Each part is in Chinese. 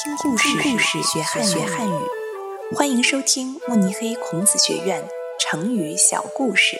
听故事学汉语。欢迎收听慕尼黑孔子学院成语小故事。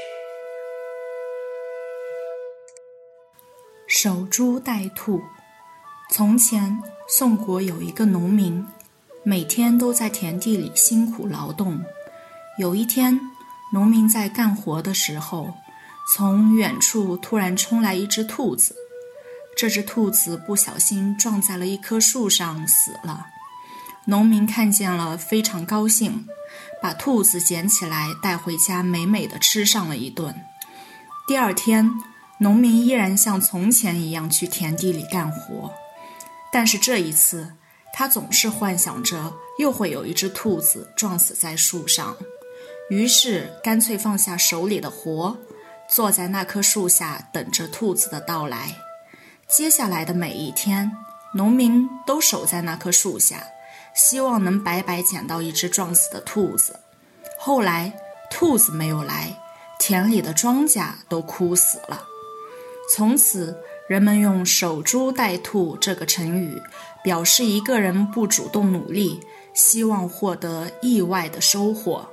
守株待兔。从前，宋国有一个农民，每天都在田地里辛苦劳动。有一天，农民在干活的时候，从远处突然冲来一只兔子。这只兔子不小心撞在了一棵树上，死了。农民看见了，非常高兴，把兔子捡起来带回家，美美的吃上了一顿。第二天，农民依然像从前一样去田地里干活，但是这一次，他总是幻想着又会有一只兔子撞死在树上，于是干脆放下手里的活，坐在那棵树下等着兔子的到来。接下来的每一天，农民都守在那棵树下，希望能白白捡到一只撞死的兔子。后来，兔子没有来，田里的庄稼都枯死了。从此，人们用守株待兔这个成语，表示一个人不主动努力，希望获得意外的收获。